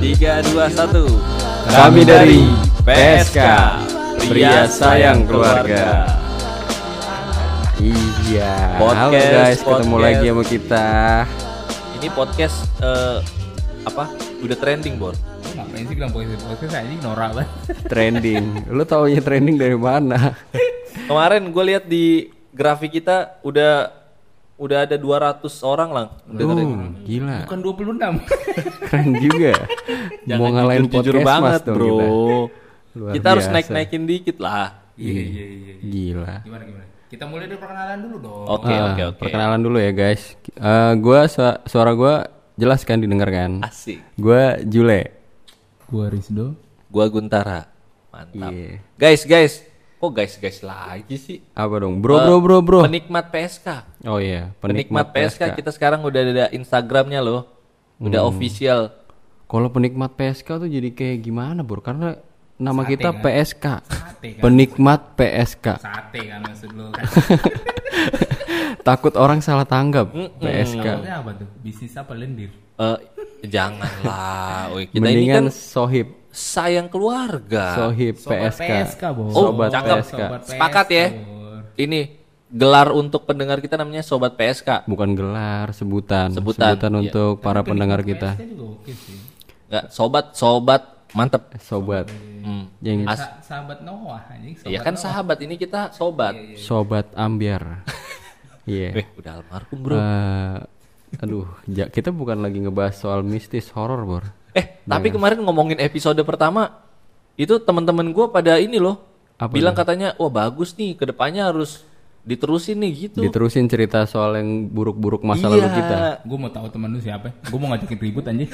3, 2, 1. Kami dari PSK, Pria Sayang Keluarga. Iya. Halo guys, ketemu lagi sama kita. Ini podcast udah trending, Bor. Ngapain sih bilang podcast anjing norak banget. Trending. Lu taunya trending dari mana? Kemarin gue lihat di grafik kita udah ada 200 orang lah. Gila. Bukan 26. Keren juga. Mau ngalahin jujur podcast banget, mas dong bro. Luar Kita harus biasa. naikin dikit lah. Iya. Gila. Gimana? Kita mulai dari perkenalan dulu dong. Oke. Perkenalan dulu ya guys. Suara gue jelas kan didengarkan. Asik. Gue Jule. Gua Rizdo. Gua Guntara. Mantap. Iya. Guys. Kok guys lagi sih? Apa dong? Bro. Penikmat PSK. Oh iya, Penikmat PSK. Kita sekarang udah ada Instagramnya loh. Udah official. Kalau penikmat PSK tuh jadi kayak gimana, Bro? Karena nama Sate, kita kan? PSK. Sate kan? Penikmat PSK. Sate kan maksud lu kan. Takut orang salah tanggap. PSK. Maksudnya apa tuh? Bisnis apa lendir? Janganlah. Kita Mendingan ini kan sohib sayang keluarga. Sohib Sobat PSK. PSK, Bos. Sobat cakep. PSK. Sepakat ya. Ini gelar untuk pendengar kita namanya Sobat PSK. Bukan gelar, sebutan. Sebutan, iya. Untuk para pendengar kita. PSK juga oke sih. Enggak, sobat mantep. Sobat. Yang Sahabat Noah anjing. Iya kan sahabat, ini kita sobat. sobat ambiar. Iya. Udah almarhum, Bro. Aduh, kita bukan lagi ngebahas soal mistis horor, Bor. Tapi kemarin ngomongin episode pertama itu teman-teman gue pada ini loh. Apa bilang katanya, wah bagus nih, kedepannya harus diterusin nih gitu. Diterusin cerita soal yang buruk-buruk masa lalu kita. Gue mau tahu temen lu siapa? Gue mau ngajakin ribut anjing.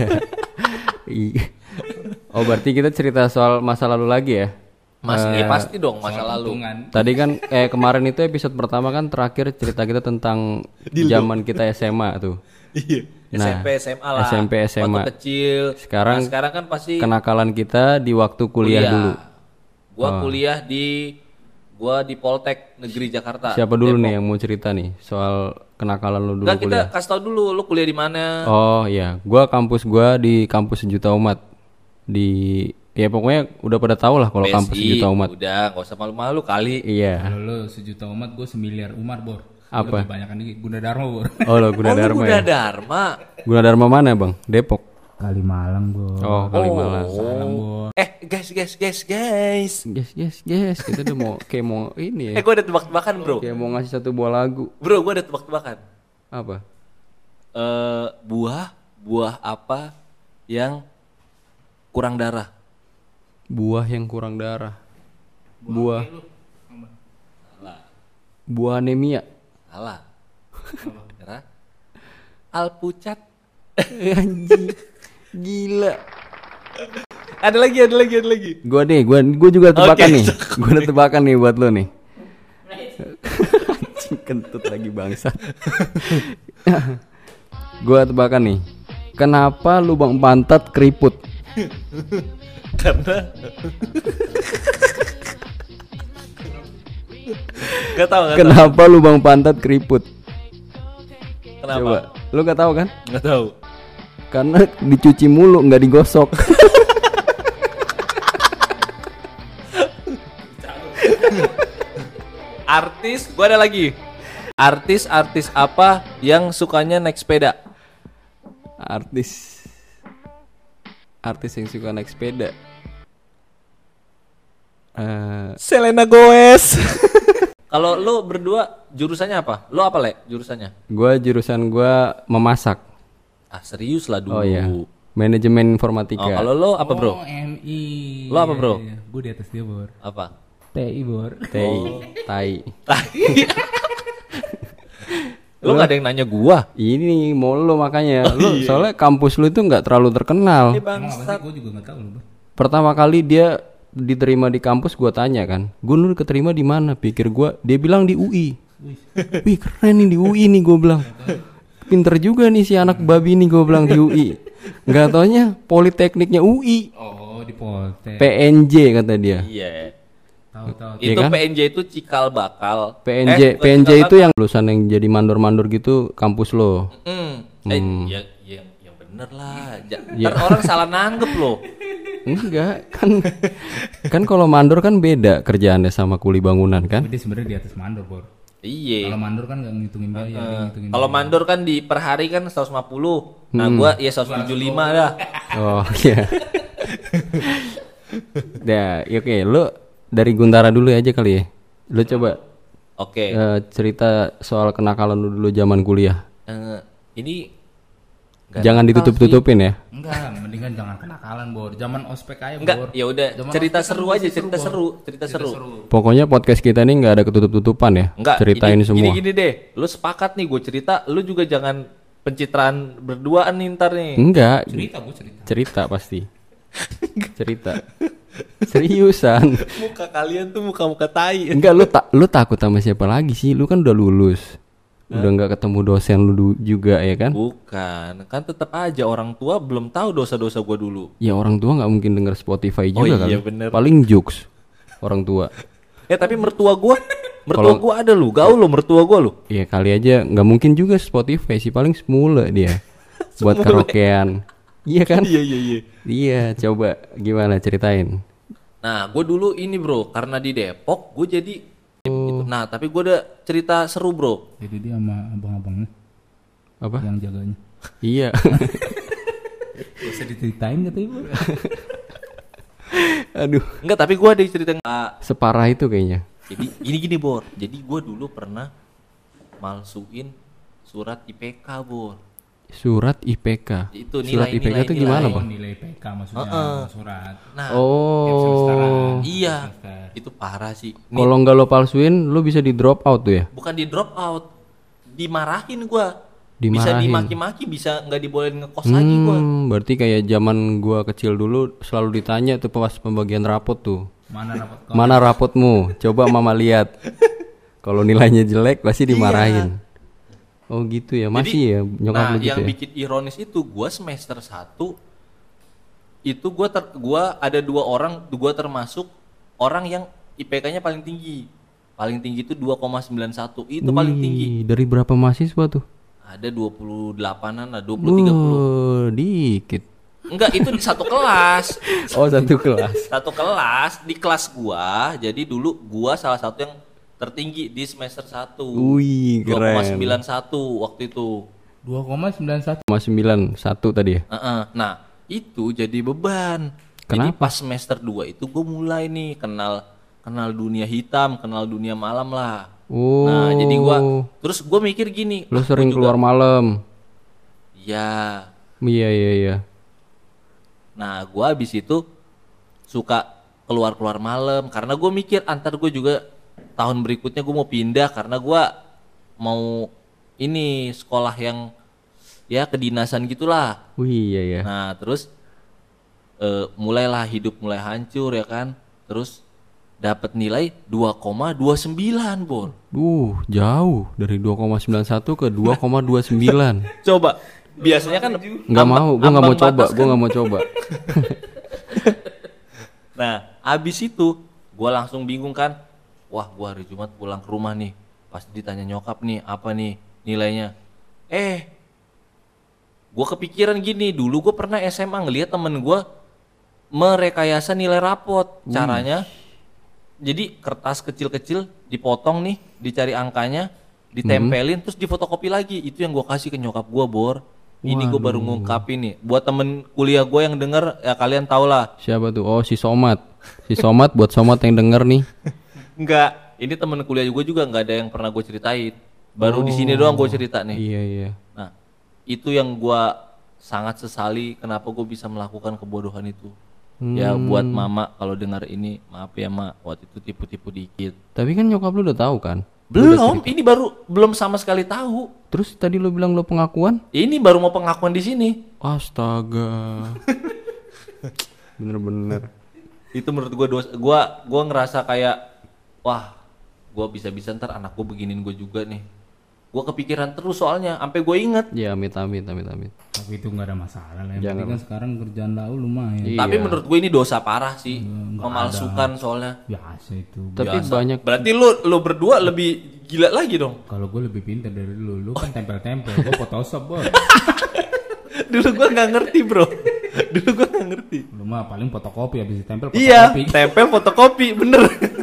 Oh, berarti kita cerita soal masa lalu lagi ya? Pasti dong masa lalu. Tadi kan kemarin itu episode pertama kan terakhir cerita kita tentang zaman kita SMA tuh. Iya. Nah, SMP SMA lah. SMP SMA. Waktu kecil. Sekarang kan pasti kenakalan kita di waktu kuliah dulu. Gua di Poltek Negeri Jakarta. Siapa dulu Depok. nih yang mau cerita nih soal kenakalan lu dulu Enggak, kita kuliah? kasih tau dulu lu kuliah di mana. Oh iya, gua di kampus Sejuta Umat. Ya pokoknya udah pada tahu lah kalau kampus Sejuta Umat. Udah, enggak usah malu-malu kali. Iya. Kalau lu sejuta umat, gue semiliar umat, Bor. Apa? Lebih banyak nih Gunadarma, Bor. Oh lo Gunadarma ya. Gunadarma mana bang? Depok. Kalimalang, Bor. Oh Kalimalang. Salam, Bor. Guys. Yes. Kita udah mau ini ya. Gue ada tebak-tebakan, Bro. Kayak mau ngasih satu buah lagu. Bro, gue ada tebak-tebakan. Apa? Buah apa yang kurang darah? Buah yang kurang darah. Buah anemia. Salah. Darah. Alpucat. Anjing. Gila. Ada lagi. Gua juga tebakan Oke. nih. Gua ada tebakan nih buat lo nih. Anjing kentut lagi bangsa. Gua tebakan nih. Kenapa lubang pantat keriput? Karena Gak tahu. Kenapa lubang pantat keriput? Kenapa? Coba. Lu gak tahu kan? Gak tahu. Karena dicuci mulu, nggak digosok. Artis, gua ada lagi. Artis apa yang sukanya naik sepeda? Artis yang suka naik sepeda. Selena Gomez. Kalau lu berdua jurusannya apa? Lu apa, Le? Jurusannya? Jurusan gua memasak. Serius lah dulu. Oh iya. Manajemen informatika. Kalau lu apa, Bro? MI. Lu apa, Bro? Gue di atas dia, Bor. Apa? TI, Bor. Tai. Lu gak ada yang nanya gua. Ini mau lu makanya. Lu soalnya kampus lu itu nggak terlalu terkenal. Emang apa sih? Gue juga gak tahu, Bor. Pertama kali dia diterima di kampus gua tanya kan. Gue dulu keterima di mana? Pikir gua dia bilang di UI. Wih, keren nih di UI nih gua bilang. Pinter juga nih si anak babi nih gue bilang di UI. Nggak taunya Politekniknya UI. Oh, di Poltek. PNJ kata dia. Iya. Tahu. Iya Itu kan? PNJ itu cikal bakal. PNJ bukan cikal itu yang lulusan yang jadi mandor-mandor gitu kampus lo. bakal. Yang bener lah. Ya. Ntar orang salah nanggep loh. Enggak, kan kalau mandor kan beda kerjaannya sama kuli bangunan kan? Tapi dia sebenarnya di atas mandor, Bor. Iya. Kalau mandor kan nggak ngitungin biaya, dia ngitungin Kalau mandor kan di per hari kan 150. Nah, gua ya 175 dah. Oh iya. Ya, oke, lu dari Guntara dulu aja kali ya. Lu coba Oke. cerita soal kenakalan lu dulu zaman kuliah. Ini nggak Jangan nakal ditutup-tutupin ya. Enggak, mendingan jangan kenakalan, Bor. Zaman ospek aja, sih. Enggak, Bor. ya udah Zaman cerita ospek kan seru masih aja, cerita Bor. seru, cerita seru. Pokoknya podcast kita ini nggak ada ketutup-tutupan ya. Enggak, Ceritain semua. Gini deh, lu sepakat nih gue cerita, lu juga jangan pencitraan berduaan nih ntar nih. Enggak, Cerita, Bor, cerita. cerita pasti. Cerita. Seriusan. Muka kalian tuh muka-muka tai. Enggak, lu takut sama siapa lagi sih? Lu kan udah lulus. Udah nggak ketemu dosen lu juga ya kan? Bukan, kan tetap aja orang tua belum tahu dosa-dosa gue dulu. Ya orang tua nggak mungkin denger Spotify Oh juga iya, kan? bener. Paling jokes orang tua. Tapi mertua gue Kalau- ada lu, gaul lo mertua gue lu. Ya kali aja nggak mungkin juga Spotify sih, paling semula dia buat karaokean. Iya kan? Iya. Iya, coba gimana ceritain? Nah, gue dulu ini bro, karena di Depok gue jadi gitu. Nah, tapi gue ada cerita seru bro. Jadi dia sama abang-abangnya Apa? yang jaganya. Iya. Gak usah diceritain katanya, Bor. Aduh, Enggak, tapi gue ada cerita yang separah itu kayaknya. jadi gini bor. Jadi gue dulu pernah malsuin surat IPK bor. Surat IPK. Itu Surat nilai- IPK itu nilai- gimana, Oh, Bang? nilai PK maksudnya surat. Nah, Tiap semesteran. Oh. iya, semester. itu parah sih. Nih, Kalau nggak lo palsuin, lo bisa di drop out tuh ya? bukan di drop out, dimarahin gue. Bisa Dimarahin. dimaki-maki, bisa nggak dibolehin ngekos lagi gue. Berarti kayak zaman gua kecil dulu selalu ditanya tuh pas pembagian rapot tuh. Mana rapat kau? Mana rapotmu? Coba mama lihat. Kalau nilainya jelek pasti dimarahin. Oh gitu ya, masih ya nyokap Nah, lu gitu yang ya. bikin ironis itu gue semester 1 itu gua ada 2 orang, gue termasuk orang yang IPK-nya paling tinggi. Paling tinggi itu 2,91. Itu paling tinggi. Dari berapa mahasiswa tuh? Ada 28-an lah, 20 30. Dikit. Enggak, itu di satu kelas. Oh, satu kelas. Satu kelas, di kelas gua. Jadi dulu gua salah satu yang tertinggi di semester 1. Wih, keren. 2,91 waktu itu. 2,91. 91 tadi ya. Nah, itu jadi beban. Jadi Kenapa? pas semester 2 itu gue mulai nih kenal dunia hitam, kenal dunia malam lah. Oh. Nah, jadi terus gue mikir gini, Lu "Ah, sering gua juga- keluar malam. Ya. Iya. Nah, gue abis itu suka keluar malam karena gue mikir antar gue juga tahun berikutnya gue mau pindah karena gue mau ini sekolah yang ya kedinasan gitulah. Wih, iya. Nah terus mulailah hidup mulai hancur ya kan. Terus dapat nilai 2,29 Bor. Jauh dari 2,91 ke 2,29. Coba biasanya kan Nggak mau, gua nggak mau coba, gua nggak mau coba. Nah abis itu gue langsung bingung kan. Wah gue hari Jumat pulang ke rumah nih. Pas ditanya nyokap nih apa nih nilainya. Gue kepikiran gini. Dulu gue pernah SMA ngeliat temen gue merekayasa nilai rapot. Caranya jadi kertas kecil-kecil dipotong nih, dicari angkanya, ditempelin, terus difotokopi lagi. Itu yang gue kasih ke nyokap gue Bor. Ini gue baru ngungkapin nih. Buat temen kuliah gue yang denger ya kalian tau lah. Siapa tuh? Oh, si Somat. Si Somat, buat Somat yang denger nih. Enggak, ini temen kuliah gue juga nggak ada yang pernah gue ceritain. Baru di sini doang gue cerita nih. Iya. Nah, itu yang gue sangat sesali kenapa gue bisa melakukan kebodohan itu. Ya buat mama kalau dengar ini, maaf ya mak, waktu itu tipu-tipu dikit. Tapi kan nyokap lu udah tahu kan? Belum, ini belum sama sekali tahu. Terus tadi lu bilang lu pengakuan? Ini baru mau pengakuan di sini. Astaga. Bener-bener. Itu menurut gue gue ngerasa kayak wah, gue bisa-bisa ntar anak gue beginin gue juga nih. Gue kepikiran terus soalnya, sampai gue inget. Ya, amit. Tapi itu nggak ada masalah lah. Yang Jangan. penting kan sekarang kerjaan lau lumayan. Iya. Tapi menurut gue ini dosa parah sih, memalsukan soalnya. Biasa itu. Tapi Biasa. banyak Berarti lu berdua lebih gila lagi dong. Kalau gue lebih pintar dari lu kan tempel-tempel. Gue Photoshop Bor. Dulu gua nggak ngerti bro. Dulu gua nggak ngerti. Lu mah paling fotokopi habis ditempel Iya, fotokopi. tempel fotokopi, bener.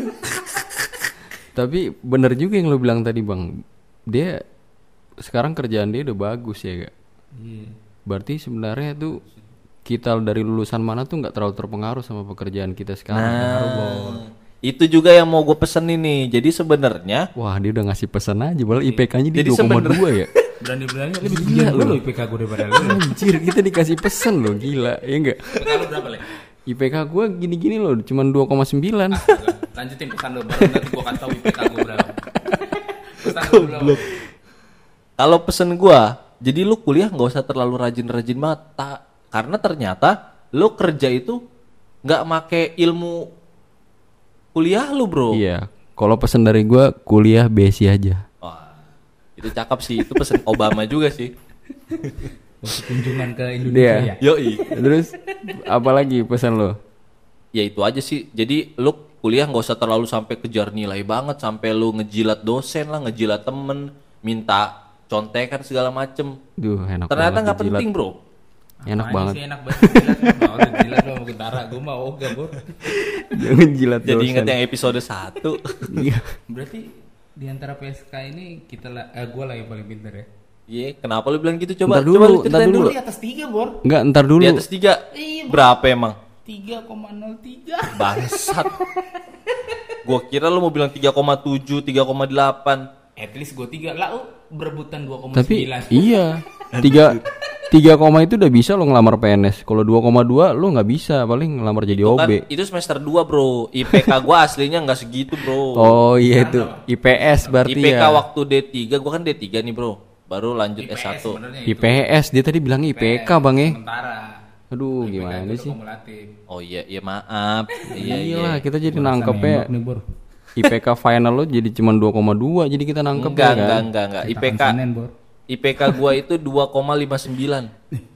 Tapi bener juga yang lo bilang tadi bang. Dia sekarang kerjaan dia udah bagus ya gak? Iya. Berarti sebenarnya tuh kita dari lulusan mana tuh nggak terlalu terpengaruh sama pekerjaan kita sekarang. Itu juga yang mau gue pesenin nih. Jadi sebenarnya Wah dia udah ngasih pesan aja. Padahal IPK-nya di Jadi 2,2 ya. Berani-beraninya lebih tinggi Gila gue lu. lo IPK gue daripada lu. Anjir kita dikasih pesan loh gila. Ya enggak? Kalau berapa Le? IPK gue gini-gini loh. Cuman 2,9. Lanjutin pesan lo baru nanti gue kasih tahu IPK gue berapa. Pesan lo belum. kalau pesen gue, jadi lu kuliah nggak usah terlalu rajin-rajin mata. Karena ternyata lu kerja itu nggak make ilmu kuliah lu bro. Iya. Kalau pesan dari gue kuliah besi aja. Wah, itu cakep sih. Itu pesen Obama juga sih. Waktu kunjungan ke Indonesia ya. Yoi. Terus apalagi pesan lo? Ya itu aja sih. Jadi lu kuliah nggak usah terlalu sampai kejar nilai banget, sampai lu ngejilat dosen lah, ngejilat temen, minta contekan segala macem. Duh enak Ternyata banget nggak dijilat. penting bro. Enak Apaan banget. sih enak banget jilat. Mau jilat lo mau gentara gue mah ogah bor. Jangan jilat Jadi dosen. inget yang episode 1. Iya. Berarti di antara PSK ini kita lah, gue lah yang paling pintar ya. Iya, kenapa lu bilang gitu? Coba Ntar dulu, coba lu ntar ceritain dulu. dulu. Di atas 3 bor. Enggak ntar dulu. Di atas 3. Iya, Bro. Berapa emang? 3,03. Bangsat. Gua kira lu mau bilang 3,7, 3,8. At least gue 3 lah, berebutan 2,9. Tapi iya 3 koma itu udah bisa lo ngelamar PNS. Kalau 2,2 lo nggak bisa, paling ngelamar jadi Itu OB. kan itu semester 2, Bro. IPK gua aslinya nggak segitu, Bro. Oh iya itu IPS berarti IPK ya. waktu D3, gua kan D3 nih, Bro. Baru lanjut S1. sebenarnya itu. IPS dia tadi bilang IPK bang ya. Sementara. Aduh IPK gimana itu sih? kumulatif. Oh iya, iya maaf. Iya, iya. Iyalah kita jadi Gua rasa nangkepnya nembak nih, Bor. IPK final lo jadi cuma 2,2 jadi kita nangkep Enggak, ya kan. enggak. Cetakan IPK Senin, Bor. IPK gua itu 2,59.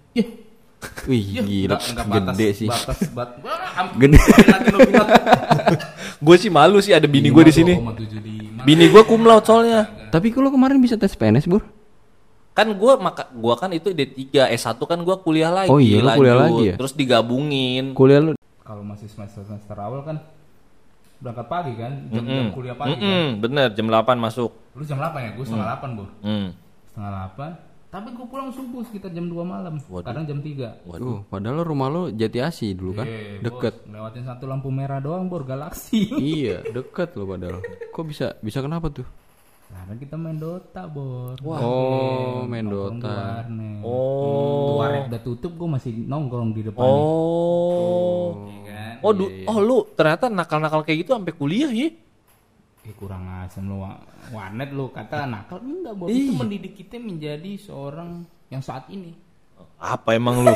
Wih gila Enggak batas, gede sih. Gede. Gede. Gue sih malu sih ada bini gua di sini. 2,75. Bini gua cum laude soalnya. Tapi kalau kemarin bisa tes PNS Bur? Kan gua kan itu D3, S1 kan gua kuliah lagi. Oh iya, lu kuliah lanjut. lagi ya? Terus digabungin. Kuliah lo Kalau masih semester awal kan berangkat pagi kan, jam kuliah pagi kan. Bener, jam 8 masuk. Lu jam 8 ya, gue setengah 8 Bor. Hmm. Setengah 8. Tapi gue pulang subuh sekitar jam 2 malam. Kadang jam 3. Waduh, padahal rumah lo Jati Asih dulu kan? Deket. Lewatin satu lampu merah doang Bor, Galaxy. Iya, deket lo padahal. Kok bisa kenapa tuh? Karena kita main Dota Bor. Oh, main Nongkrong di Dota. warnet. Oh. Warnet udah tutup, gue masih nongkrong di depan. Oh. Iya kan? Oh, lu ternyata nakal-nakal kayak gitu sampai kuliah ya? Kurang asem lu warnet lu kata nakal enggak Bor. Itu mendidik kita menjadi seorang yang saat ini. Apa emang lu?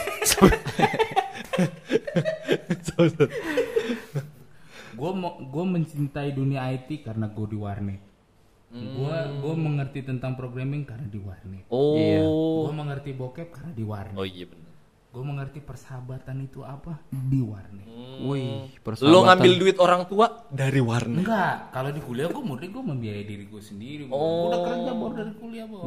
Gue mencintai dunia IT karena gue di warnet. Gue mengerti tentang programming karena di warnet. Oh. Gue mengerti bokep karena di warnet. Oh iya benar. Gue mengerti persahabatan itu apa di warnet. Wih, persahabatan. Lu ngambil duit orang tua dari warnet. Enggak, kalau di kuliah gue murni gue membiayai diri gue sendiri. Bor. Gue udah kerja Bor dari kuliah Bor.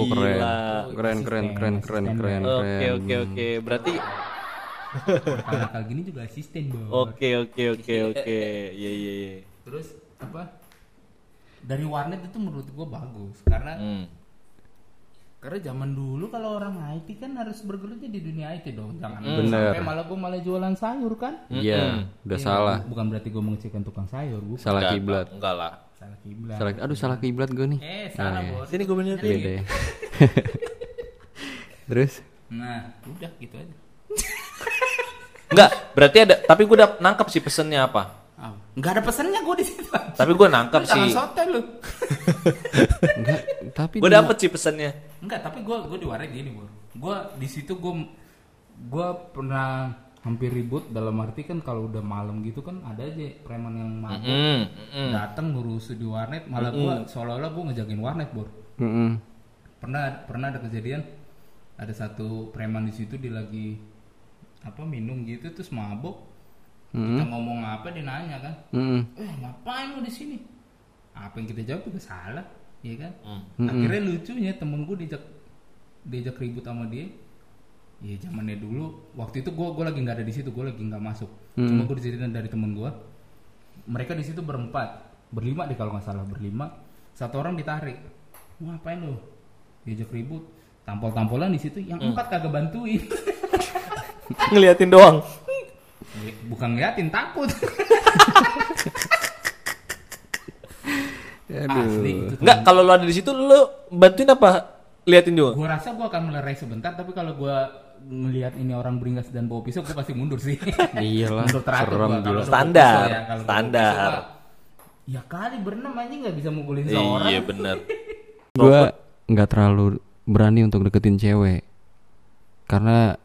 Keren. Oke. Berarti Nakal gini juga asisten Bor. Oke. Iya. Terus apa? Dari warnet itu menurut gue bagus karena karena zaman dulu kalau orang IT kan harus bergeluti di dunia IT dong, jangan Bener. sampai malah jualan sayur kan? Iya, udah Iya, salah. Bukan berarti gue mengecilkan tukang sayur, bukan. Salah kiblat. Enggak lah. Salah kiblat. Salah kiblat gue nih. Salah iya. Bos. Sini gue benerin. Beda ya. Terus? Nah, udah gitu aja. Enggak, berarti ada. Tapi gue udah nangkep sih pesennya apa. Enggak ada pesannya gue di situ. Tapi gue nangkep Jangan sih. sotoy lu. Enggak, tapi Gue dapet sih pesennya. Enggak, tapi gue di warnet gini, Bor. Gue di situ gue pernah hampir ribut dalam arti kan kalau udah malam gitu kan ada aja preman yang mabuk datang ngurus di warnet, malah gue seolah-olah gue ngejagain warnet, Bor. Pernah ada kejadian ada satu preman di situ dia lagi minum gitu terus mabuk. Kita ngomong apa dia nanya kan, ngapain lu di sini? Apa yang kita jawab juga salah, ya kan? Akhirnya lucunya temen gue diajak ribut sama dia, Iya zamannya dulu, waktu itu gue lagi nggak ada di situ, gue lagi nggak masuk. Cuma gue diceritain dari temen gue, mereka di situ berlima deh kalau nggak salah, berlima. Satu orang ditarik, wah ngapain lo? Diajak ribut, tampol-tampolan di situ, yang 4 kagak bantuin. Ngeliatin doang. Bukan ngeliatin, takut. Asli itu. Enggak, kalau lu ada di situ lu bantuin apa? Liatin juga. Gue rasa gue akan melerai sebentar, tapi kalau gue ngelihat ini orang beringas dan bawa pisau, gue pasti mundur sih. Iyalah, Mundur teratur serem gua. gila. Kalau Standar, bawa pisau ya, kalau bawa standar. pisau gua, ya kali berenam aja nggak bisa mukulin seorang. Iya benar. Gue nggak terlalu berani untuk deketin cewek karena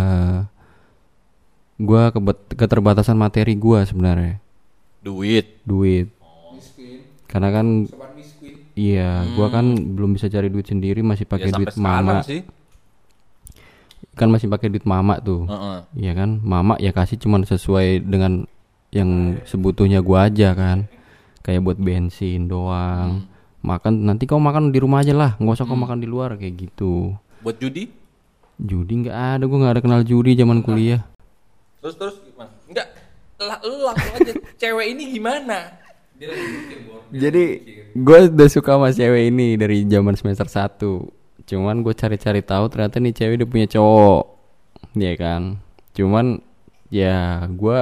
gue keterbatasan materi gue sebenarnya, duit. Karena kan iya, gue kan belum bisa cari duit sendiri, masih pakai Ya, duit sampai sekarang mama. sih. Kan masih pakai duit mama tuh. Iya kan, mama ya kasih cuman sesuai dengan yang sebutuhnya gue aja kan, kayak buat bensin doang. Makan nanti kau makan di rumah aja lah, nggak usah kau makan di luar kayak gitu. Buat judi? Judi nggak ada, gue nggak ada kenal judi zaman kuliah. Terus gimana? Enggak. Lu langsung aja. Cewek ini gimana? Jadi gue udah suka sama cewek ini dari zaman semester 1. Cuman gue cari-cari tahu ternyata nih cewek udah punya cowok, ya kan. Cuman ya gue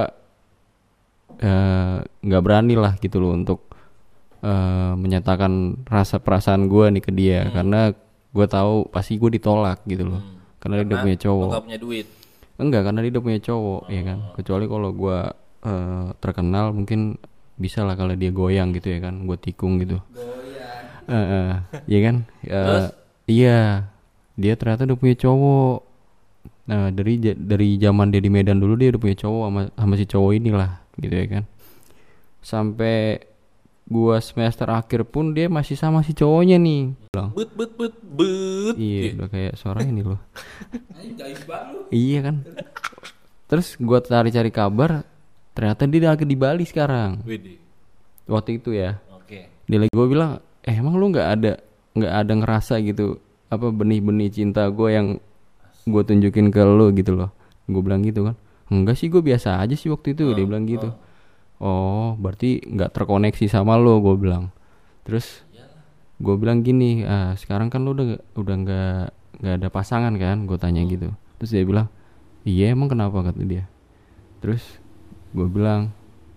nggak berani lah gitu loh untuk menyatakan rasa perasaan gue nih ke dia, karena gue tahu pasti gue ditolak gitu loh, karena dia udah punya cowok. Enggak punya duit. Enggak, karena dia udah punya cowok, ya kan. Kecuali kalau gue terkenal mungkin bisa lah kalau dia goyang gitu ya kan, gue tikung gitu. Iya kan. Iya, dia ternyata udah punya cowok. Nah dari zaman dia di Medan dulu dia udah punya cowok sama si cowok inilah gitu ya kan. Sampai gua semester akhir pun dia masih sama si cowoknya nih. But. Iya, udah kayak suara ini loh. Iya kan. Terus gua cari-cari kabar, ternyata dia lagi di Bali sekarang. Widih. Waktu itu ya. Oke. Dia lagi, gua bilang, emang lu nggak ada ngerasa gitu apa benih-benih cinta gue yang gue tunjukin ke lu gitu loh. Gue bilang gitu kan. Enggak sih, gue biasa aja sih waktu itu. Dia bilang gitu. Oh, berarti nggak terkoneksi sama lo, gue bilang. Terus gue bilang gini, sekarang kan lo udah nggak ada pasangan kan, gue tanya gitu. Terus dia bilang, iya emang kenapa, kata dia. Terus gue bilang,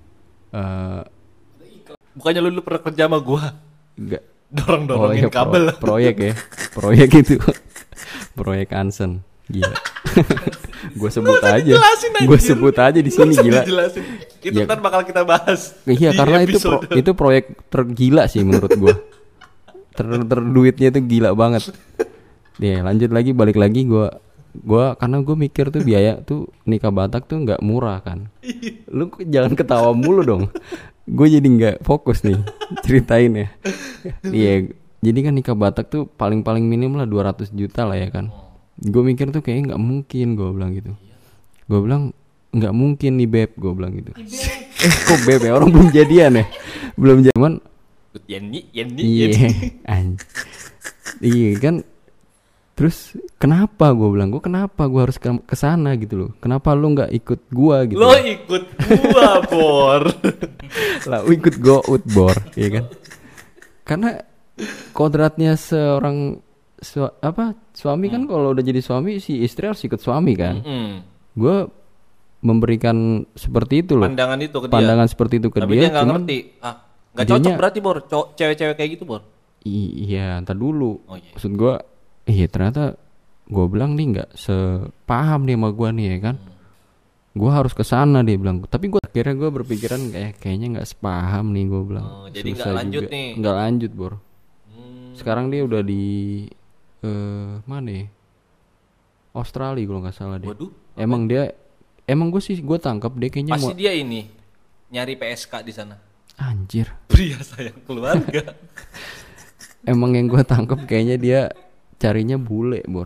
Bukannya lu pernah kerja sama gua? enggak. Dorong-dorongin kabel. Proyek ya, proyek itu, proyek Ansen, gila. Gue sebut aja di sini, gila. Dijelasin. Itu Ya. ntar bakal kita bahas. Iya, di karena episode. itu proyek tergila sih menurut gue. Terduitnya itu gila banget. Deh, lanjut lagi, balik lagi gue karena gue mikir tuh biaya tuh nikah Batak tuh nggak murah kan. Lu jangan ketawa mulu dong. Gue jadi nggak fokus nih ceritain ya. Iya, jadi kan nikah Batak tuh paling minim lah 200 juta lah ya kan. Gue mikir tuh kayaknya nggak mungkin, gue bilang gitu. Gue bilang nggak mungkin nih beb, gue bilang gitu. Kok beb ya, orang belum jadian ya, belum zaman. Yenny. Iya, iya kan. Terus kenapa, gue bilang, kenapa gue harus ke sana gitu loh? Kenapa lu nggak ikut gua gitu? Lo ikut gua, Bor. Lah, ikut go Bor, ya kan? Karena kodratnya seorang suami kan, kalau udah jadi suami si istri harus ikut suami kan. Gue memberikan seperti itu loh. Pandangan itu ke dia. Pandangan seperti itu ke Tapi dia, dia nggak cuman ngerti. Nggak cocok berarti, Bor. Cewek-cewek kayak gitu, Bor. Iya, ntar dulu. Oh, iya. Maksud gue, ternyata gue bilang nih nggak sepaham nih sama gue nih ya kan. Gue harus kesana, dia bilang. Tapi gue akhirnya gue berpikiran kayaknya nggak sepaham nih, gue bilang. Jadi nggak lanjut juga. nih. Nggak lanjut, Bor. Sekarang dia udah di mana ya? Australia kalau nggak salah dia. Waduh. Emang gue tangkap dia kayaknya Pasti dia ini nyari PSK di sana. Anjir. Pria sayang keluarga. Emang yang gue tangkap kayaknya dia carinya bule, Bor.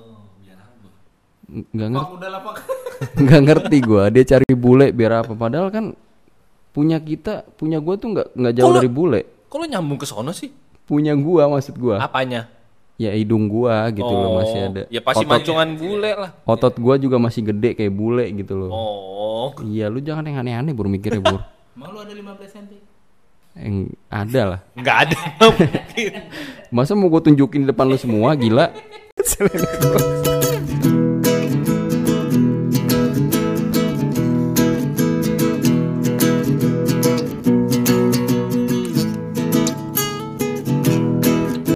Nggak ngerti gue, dia cari bule biar apa? Padahal kan punya gue tuh nggak jauh dari bule. Kok lo nyambung ke sono sih? Punya gue, maksud gue. Apanya? ya hidung gua gitu loh masih ada. Ya pasti mancungan bule lah. Otot gua juga masih gede kayak bule gitu loh. Oh. Iya, lu jangan yang aneh-aneh Bur mikirnya Bur. Emang lu ada 15 cm? Ada lah. Enggak ada. Masa mau gue tunjukin di depan lu semua, gila?